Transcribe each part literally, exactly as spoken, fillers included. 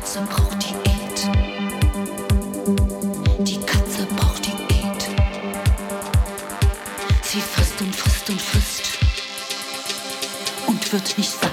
Katze braucht Diät. Die Katze braucht Diät. Sie frisst und frisst und frisst und wird nicht satt.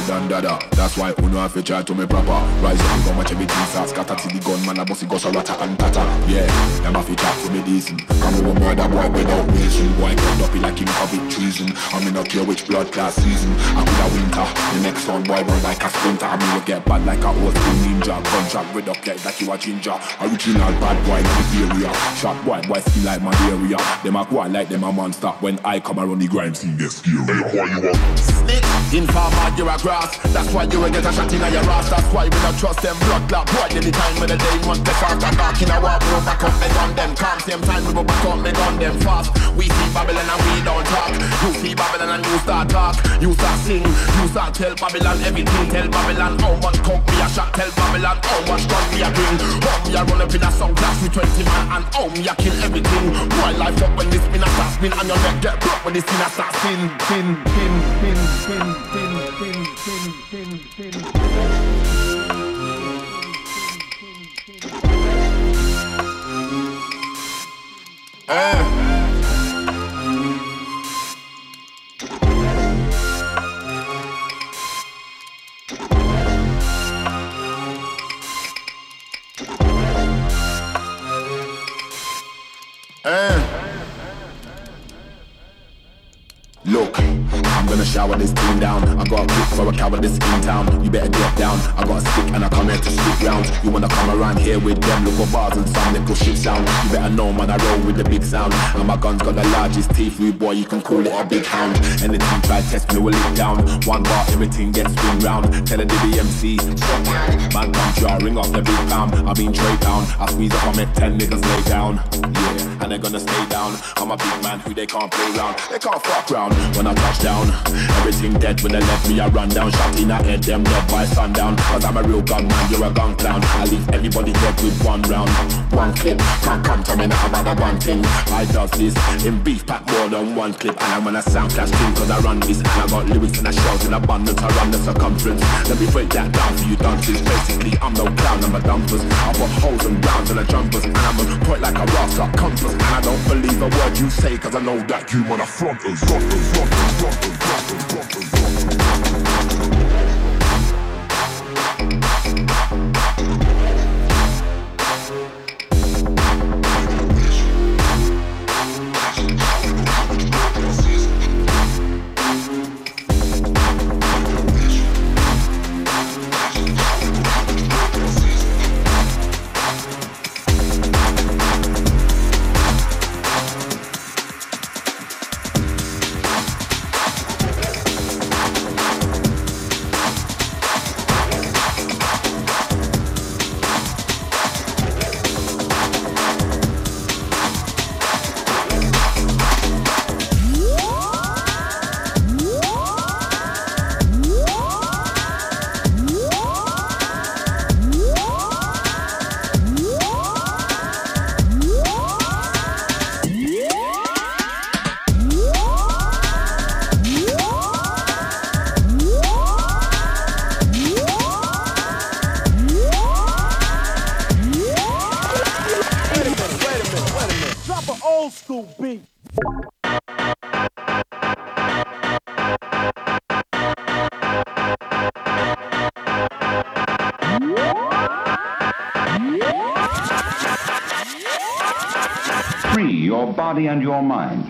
than dada. That's why uno have to try to me proper. Rise up, we gon' watch everything start scatter. See the gun, man, I bossy go so rata and tata. Yeah, them have to chat to me decent. Come over murder boy without reason. Boy, get up like him commit treason. I mean, not care which blood class season. I could have winter. The next one, boy, run like a sprinter. I mean, you get bad like a old school ninja. Gunshot with up, get like you a ginger. Original bad boy, in the area. Shot boy, boy, skin like malaria. Them a go like them a monster. When I come around the grime scene, get scary. Hey, why you want? Snitch, informer, you're a grass. That's why you will get a shot in your ass. That's why we don't trust them blood clot. Boy, anytime when the day must get after dark in a war, we back up and gun them. Calm, same time we go back up and gun them fast. We see Babylon and we don't talk. You see Babylon and you start talk. You start sing, you start tell Babylon everything. Tell Babylon how much coke me a shot. Tell Babylon how much gun me a bring. How me a run up in a sound class with twenty man. And how me a kill everything. Boy, life up when this spin a start spin. And your neck get broke when this spin a start spin. Spin, spin, spin, spin, spin, spin, spin, spin, spin. Uh. Uh. Look, I'm gonna shower this team down. I got a kick for a cowardice in town. You better get down. I got a stick and I come here to stick round. You wanna come around here with them little bars and some little shit sound. You better know, man, I roll with the big sound. And my gun's got the largest teeth, rude boy, you can call it a big hound. Anything try test me, will it down. One bar, everything gets spin round. Tell the D B M C, sit down. Man, come try, ring off the big pound. I mean, trade down. I squeeze up, I make ten niggas lay down. Yeah, and they're gonna stay down. I'm a big man who they can't play round. They can't fuck round. When I touch down, everything dead when they let me I run down. Shot in a head, them dead by sundown. Cause I'm a real gun man, you're a gun clown. I leave everybody dead with one round. One clip, can't come to me now about the one thing. I does this in beef pack more than one clip. And I'm on a sound clash thing cause I run this. And I got lyrics and I shout in abundance. I run the circumference. Let me break that down for you dunces. Basically I'm no clown, I'm a dumpers. I put holes and rounds and the jumpers. And I'm a point like a rascal compass. And I don't believe a word you say cause I know that you wanna front us. Front us. Free your body and your mind.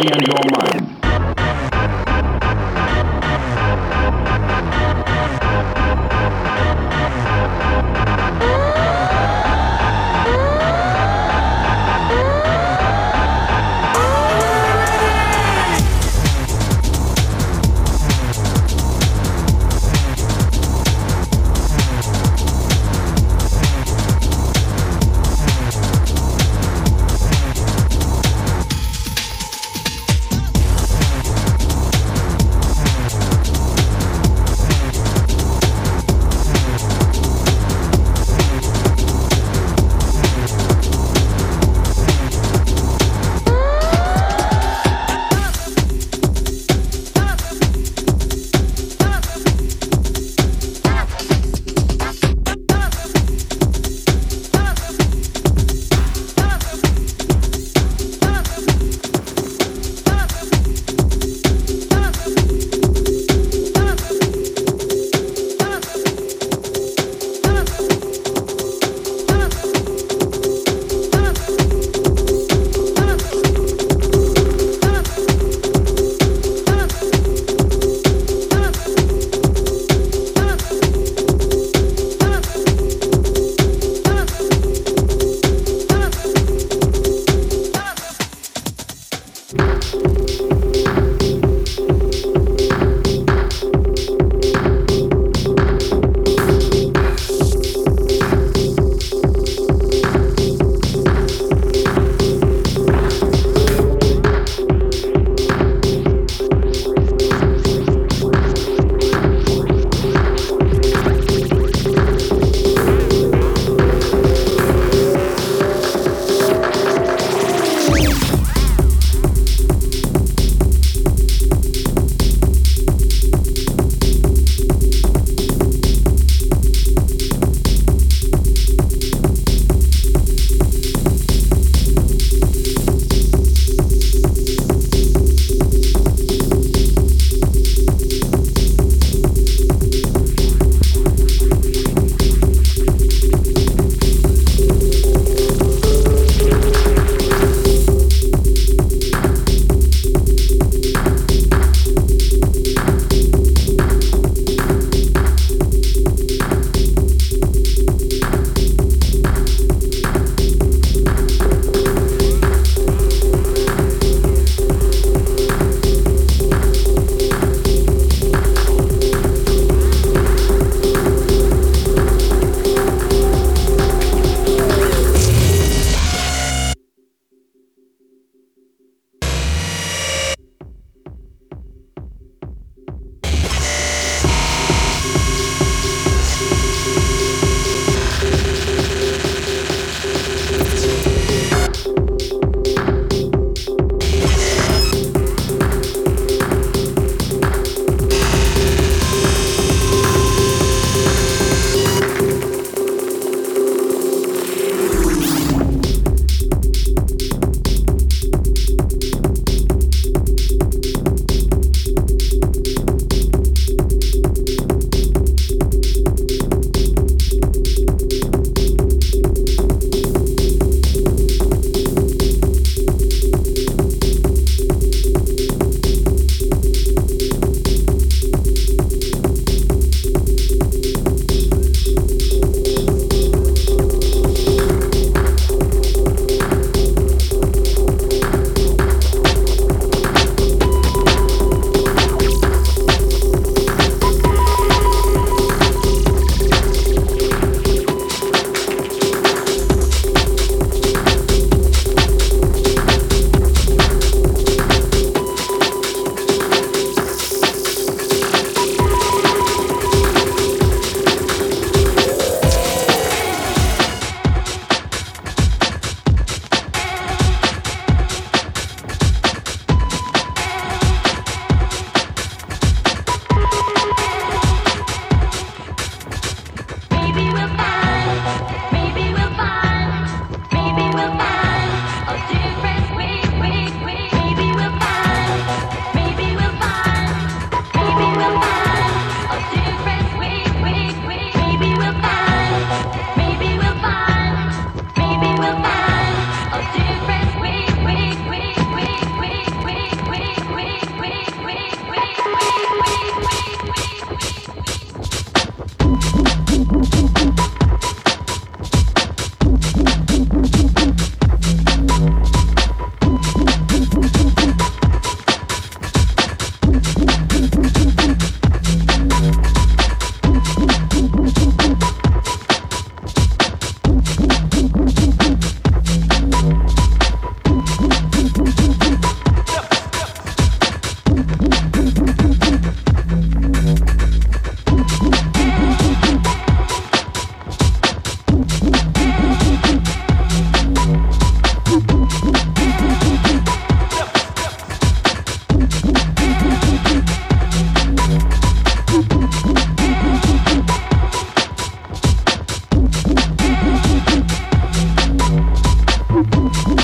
body and your mind.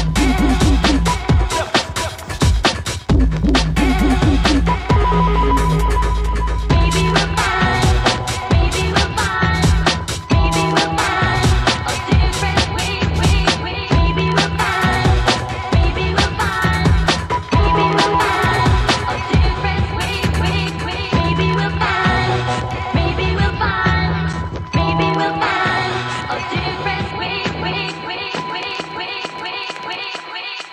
Wait, wait, wait, wait, wait, wait, wait, wait.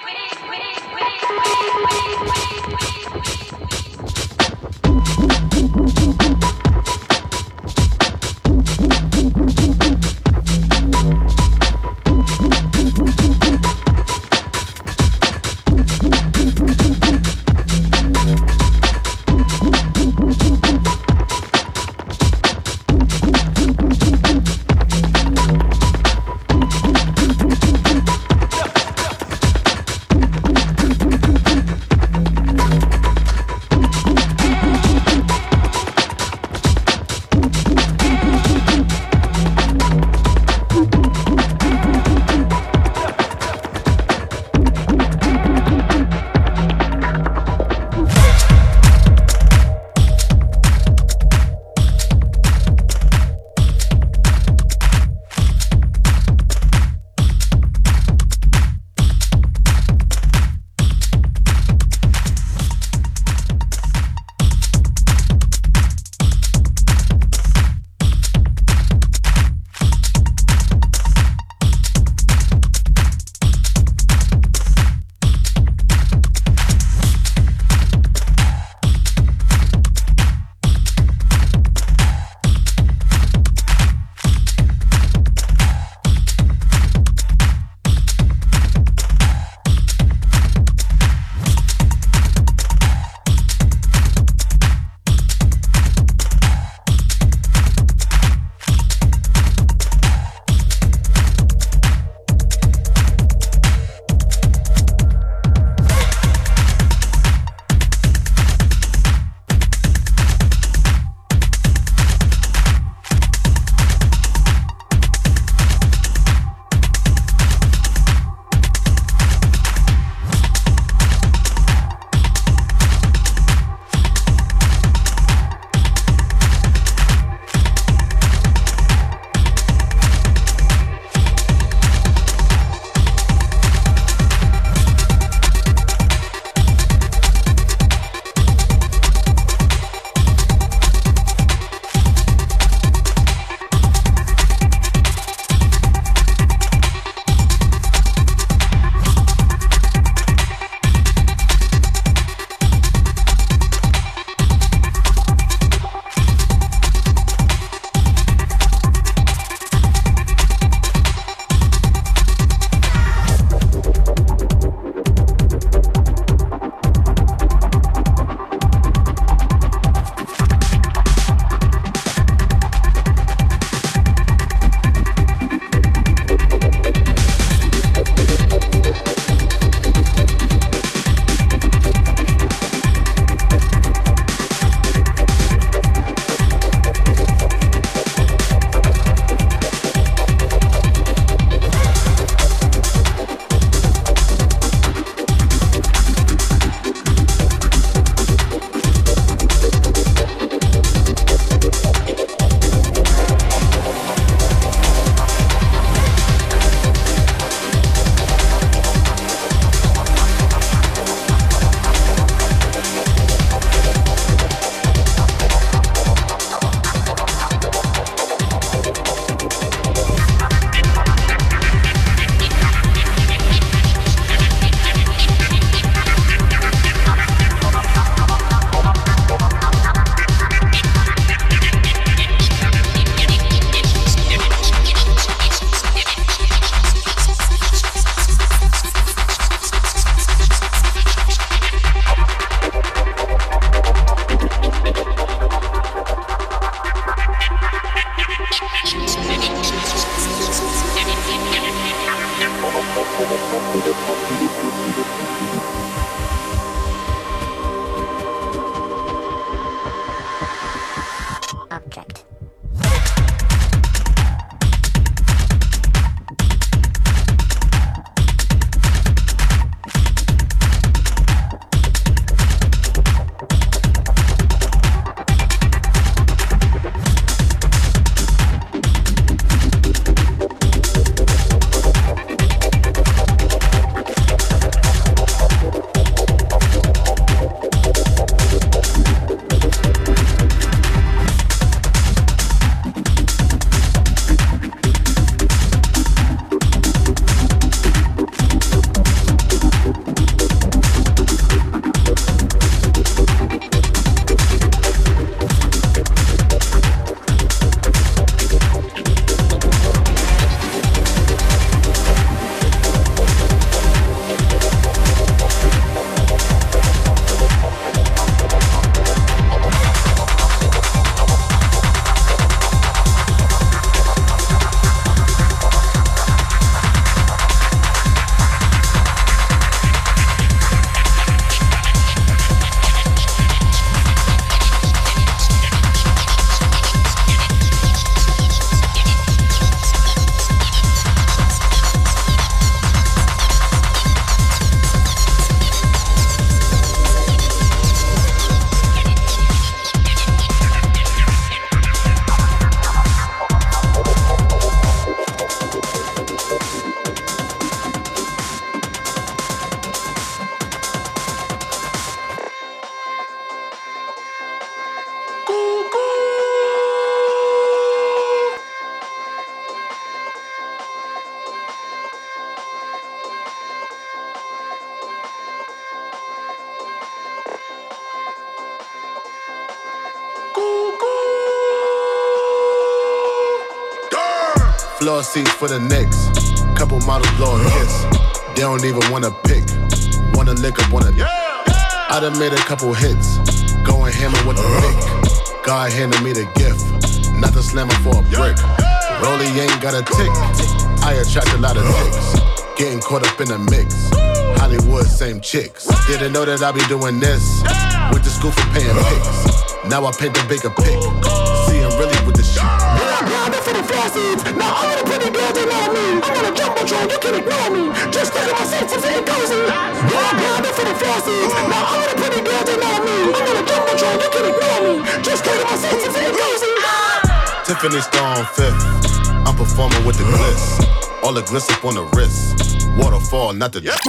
Floor seats for the Knicks. Couple models blow a kiss. They don't even wanna pick. Wanna lick up on a yeah, yeah. I done made a couple hits. Going hammer with the pick. God handed me the gift. Not the slammer for a brick. Rollie ain't got a tick. I attract a lot of chicks. Getting caught up in the mix. Hollywood, same chicks. Didn't know that I be doing this. Went to school for paying pics. Now I paint the bigger pic. See, I'm really with the shit. Grinding for the flossies. Now all the pretty girls, they know me. I'm on a jumbotron, you can ignore me. Just look at my senses, it goes in. Grinding for the flossies. Now all the pretty girls, they know me. I'm on a jumbotron, you can ignore me. Just look at my senses, it goes in. Tiffany Stone fifth. I'm performing with the gliss. All the gliss up on the wrist. Waterfall, not the... Yeah.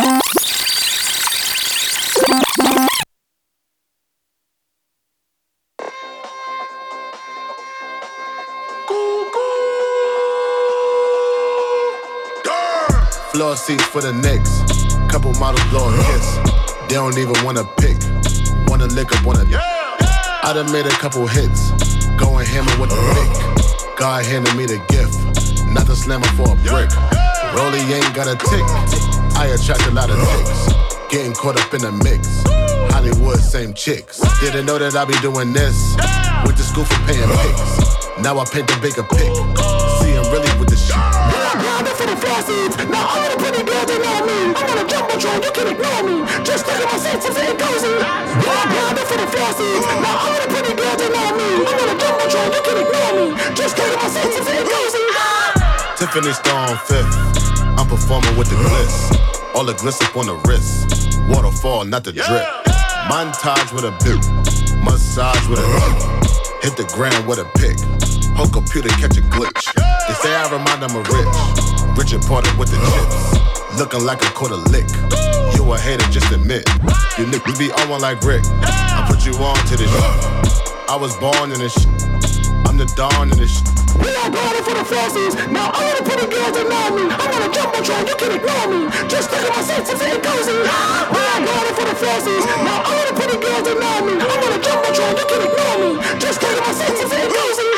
Floor seats for the Knicks. Couple models blow a kiss. They don't even wanna pick. Wanna lick up on a... Yeah, yeah. I done made a couple hits. Going hammer with the pick. God handed me the gift. Not the slammer for a brick. Rollie ain't got a tick. I attract a lot of chicks. Getting caught up in the mix. Hollywood, same chicks. Didn't know that I be doing this. Went to school for paying pics. Now I paint the bigger pic. See, I'm really with the shit. Grinding for the flossies. Now all the pretty girls, they know me. I'm on a jumbotron, you can ignore me. Just look at my senses, it goes in. Grinding for the flossies. Now all the pretty girls, they know me. I'm on a jumbotron, you can ignore me. Just look at my senses, it goes in. Tiffany Stone fifth. I'm performing with the gliss. All the gliss up on the wrist. Waterfall, not the drip. Montage with a bip. Massage with a tip. Hit the ground with a pick. Whole computer catch a glitch. They say I remind them of Rich. Richard Porter with the chips. Looking like a quarter lick. You a hater, just admit. You niggas be on one like Rick. I put you on to this shit. I was born in this shit. I'm the dawn in this shit. We are grinding for the flossies. Now all the pretty girls, they know me. I'm on a jumbotron, you can ignore me. Just look at my senses, it goes in. We are grinding for the flossies. Now all the pretty girls, they know me. I'm on a jumbotron, you can ignore me. Just look at my senses, it goes in.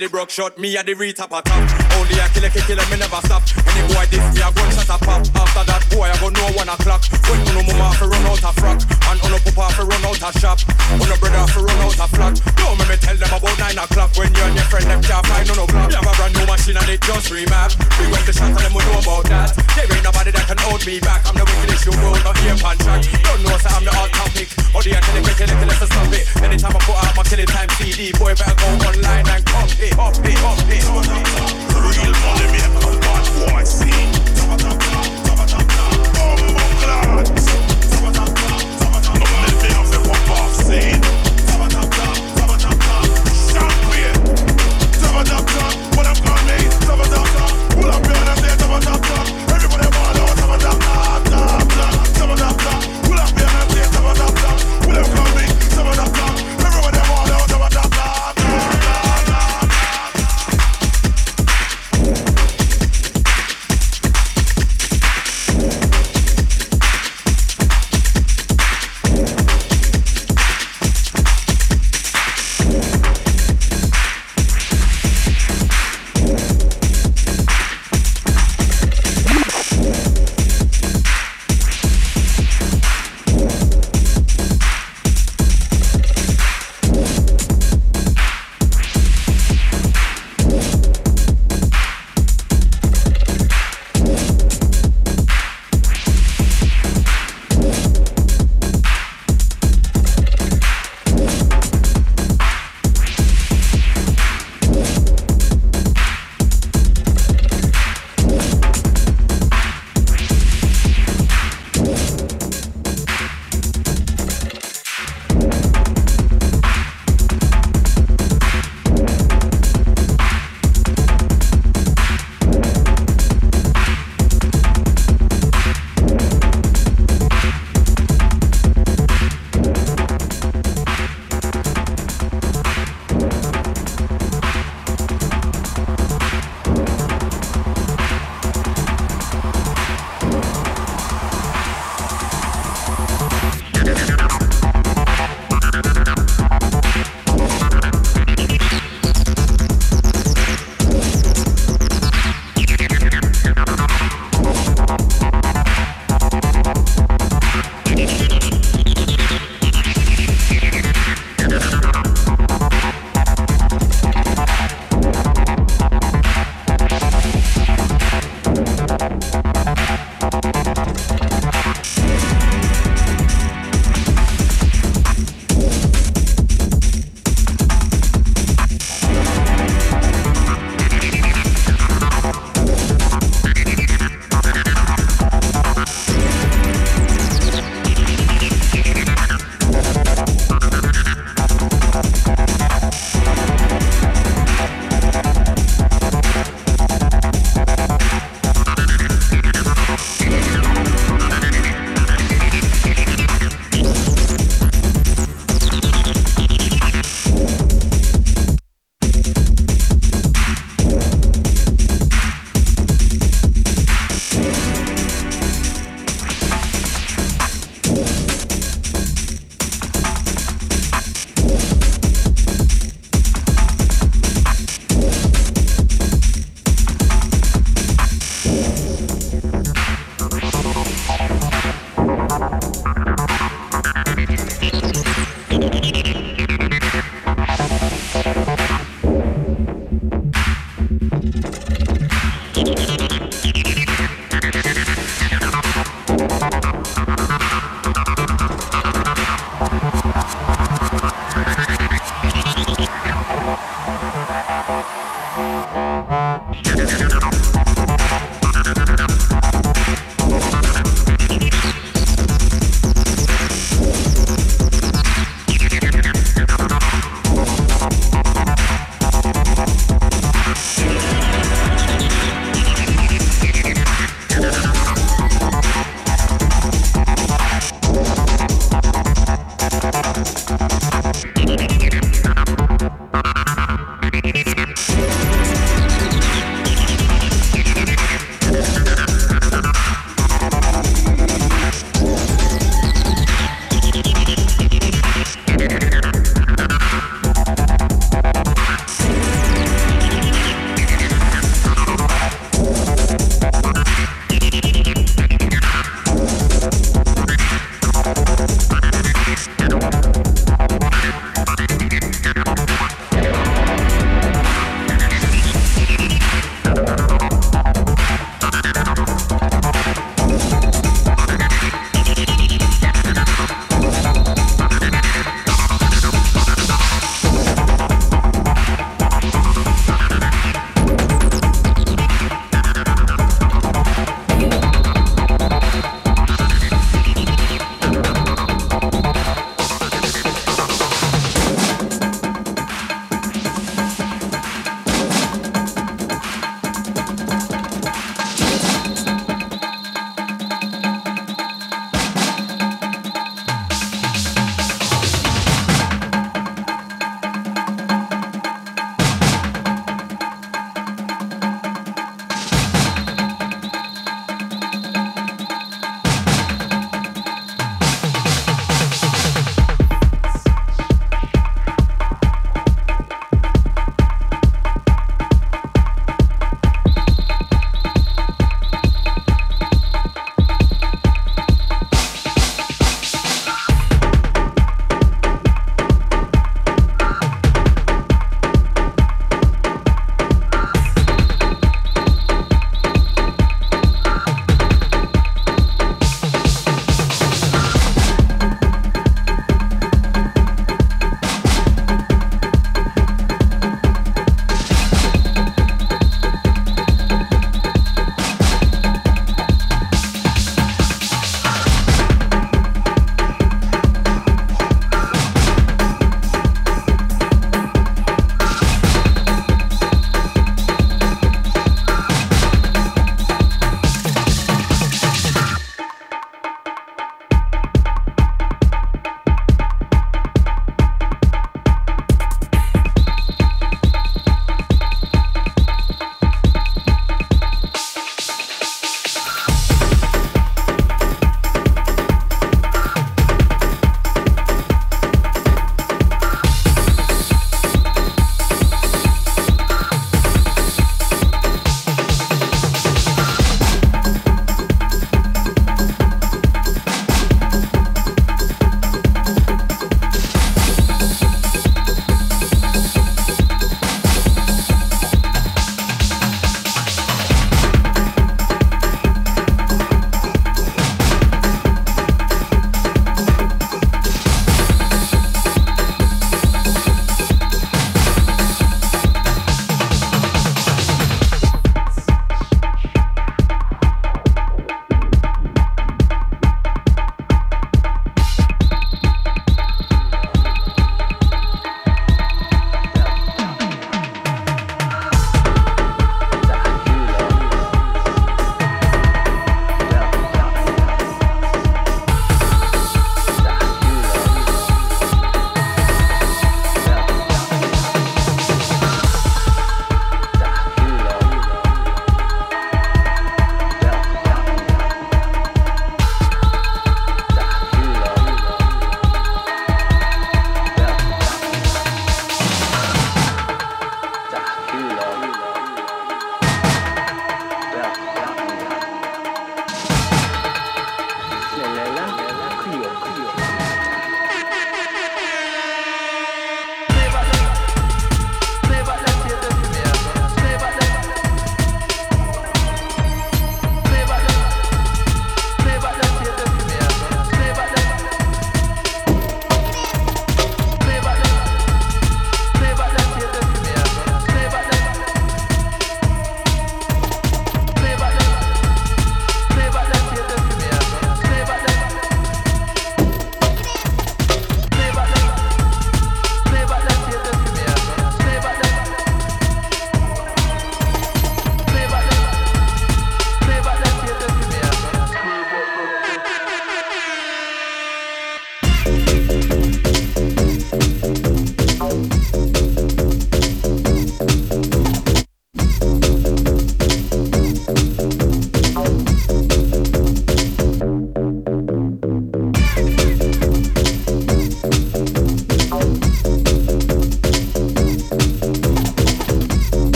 the broke shot, me at the re-top a top. Only a killer, kill killer, me never stop. Any boy this me a gunshot a pop. After that boy I go know one o'clock. When uno mama fi run out a frock, and uno papa fi run out a shop, uno brother fi run out a flat. Don't make me tell them about nine o'clock. When you and your friend them can't find no block. Me have a brand new machine and it just remap. We went to shot and them will know about that. There ain't nobody that can hold me back. I'm the wickedest you world, not here pan track. Don't know so I'm the hot topic. Or the kill it, kill it, kill it, stop it. Anytime I put out my killing time C D, boy better go online and copy, copy, copy. Real money make a bad boy scene.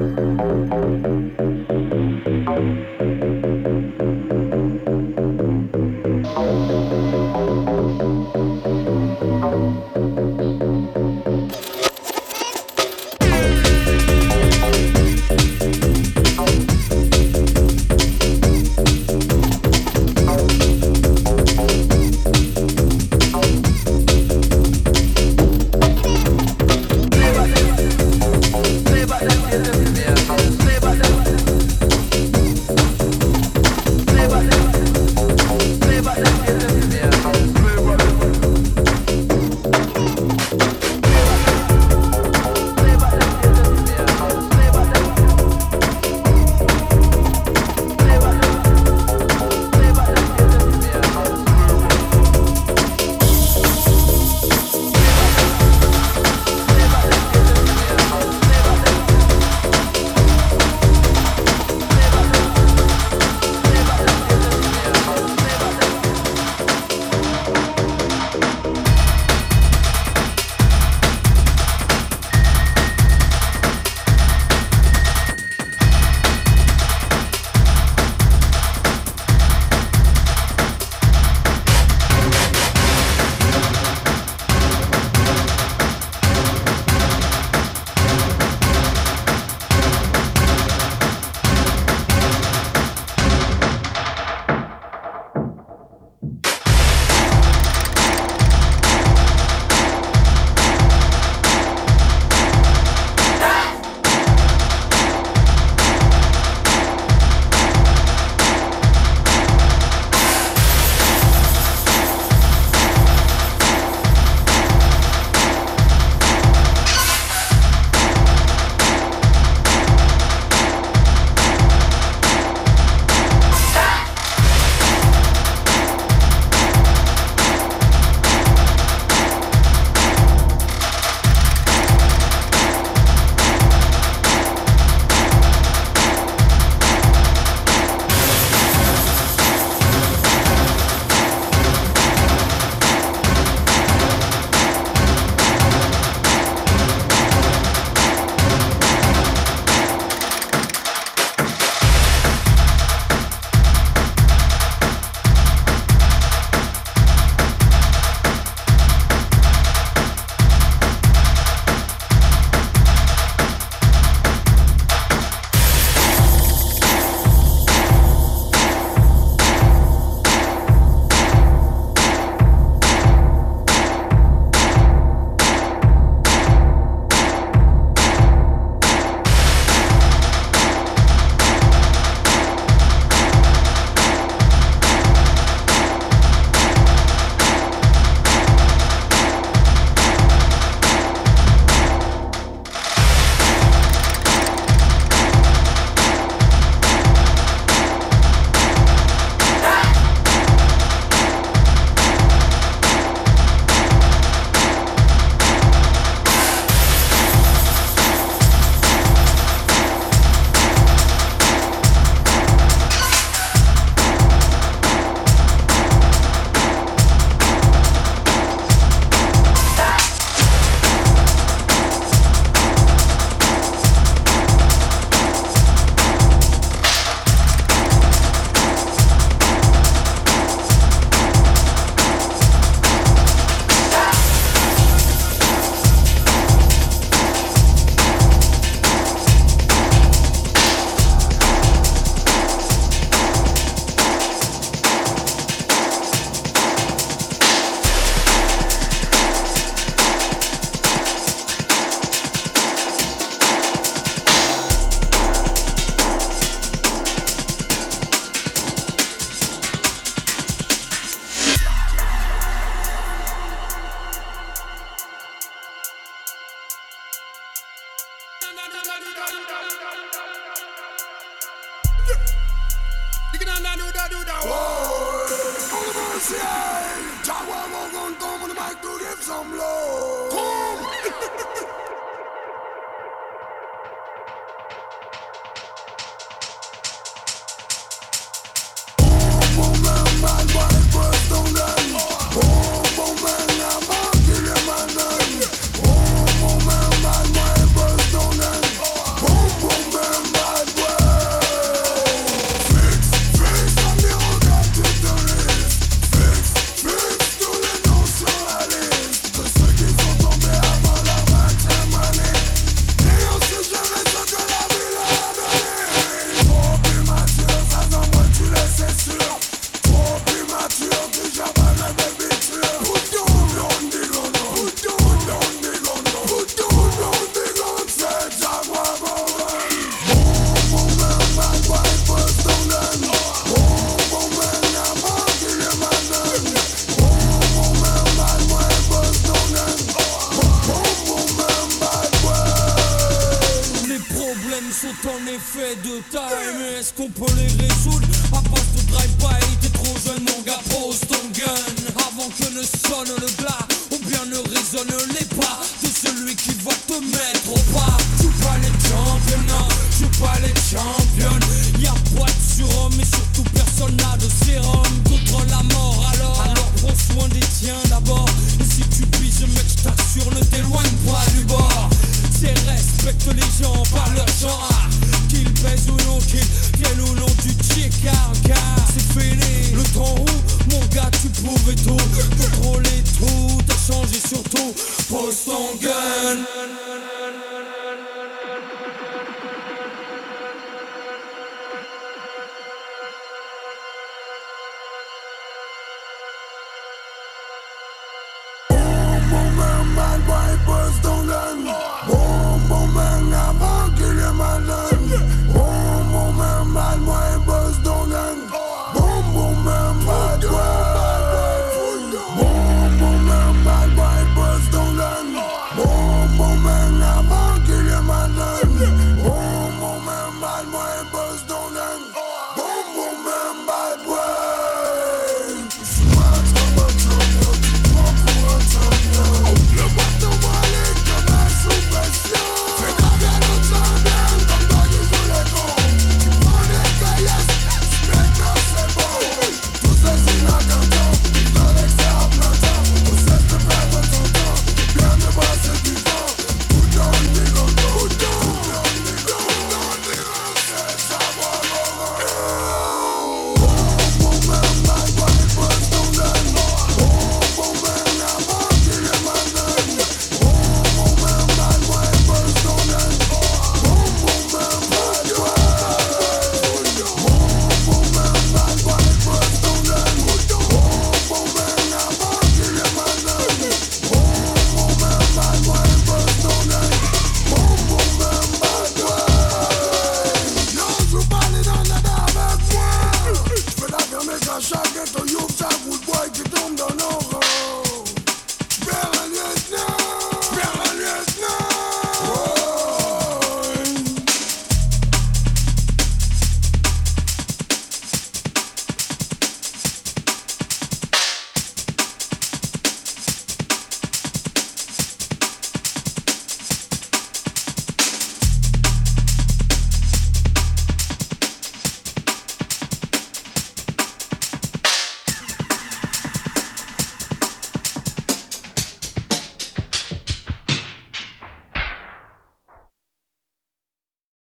Boom, boom, sont en effet de taille, mais est-ce qu'on peut les résoudre à base de drive-by? T'es trop jeune mon gars, pose ton gun avant que ne sonne le glas, ou bien ne résonne les pas de celui qui va te mettre au pas. Je suis pas les championnats, je suis pas les championnes. Y'a pas de surhomme et surtout personne n'a de sérum contre la mort. Alors, alors prends soin des tiens d'abord. Et si tu pises mec, je t'assure, ne t'éloigne pas du bord. C'est respecte les gens par leur genre, qu'ils pèsent ou non, qu'ils viennent ou non du Tchekar. Car c'est fini, le temps où mon gars tu pouvais tout contrôler, tout t'as changé surtout. Pose ton gun.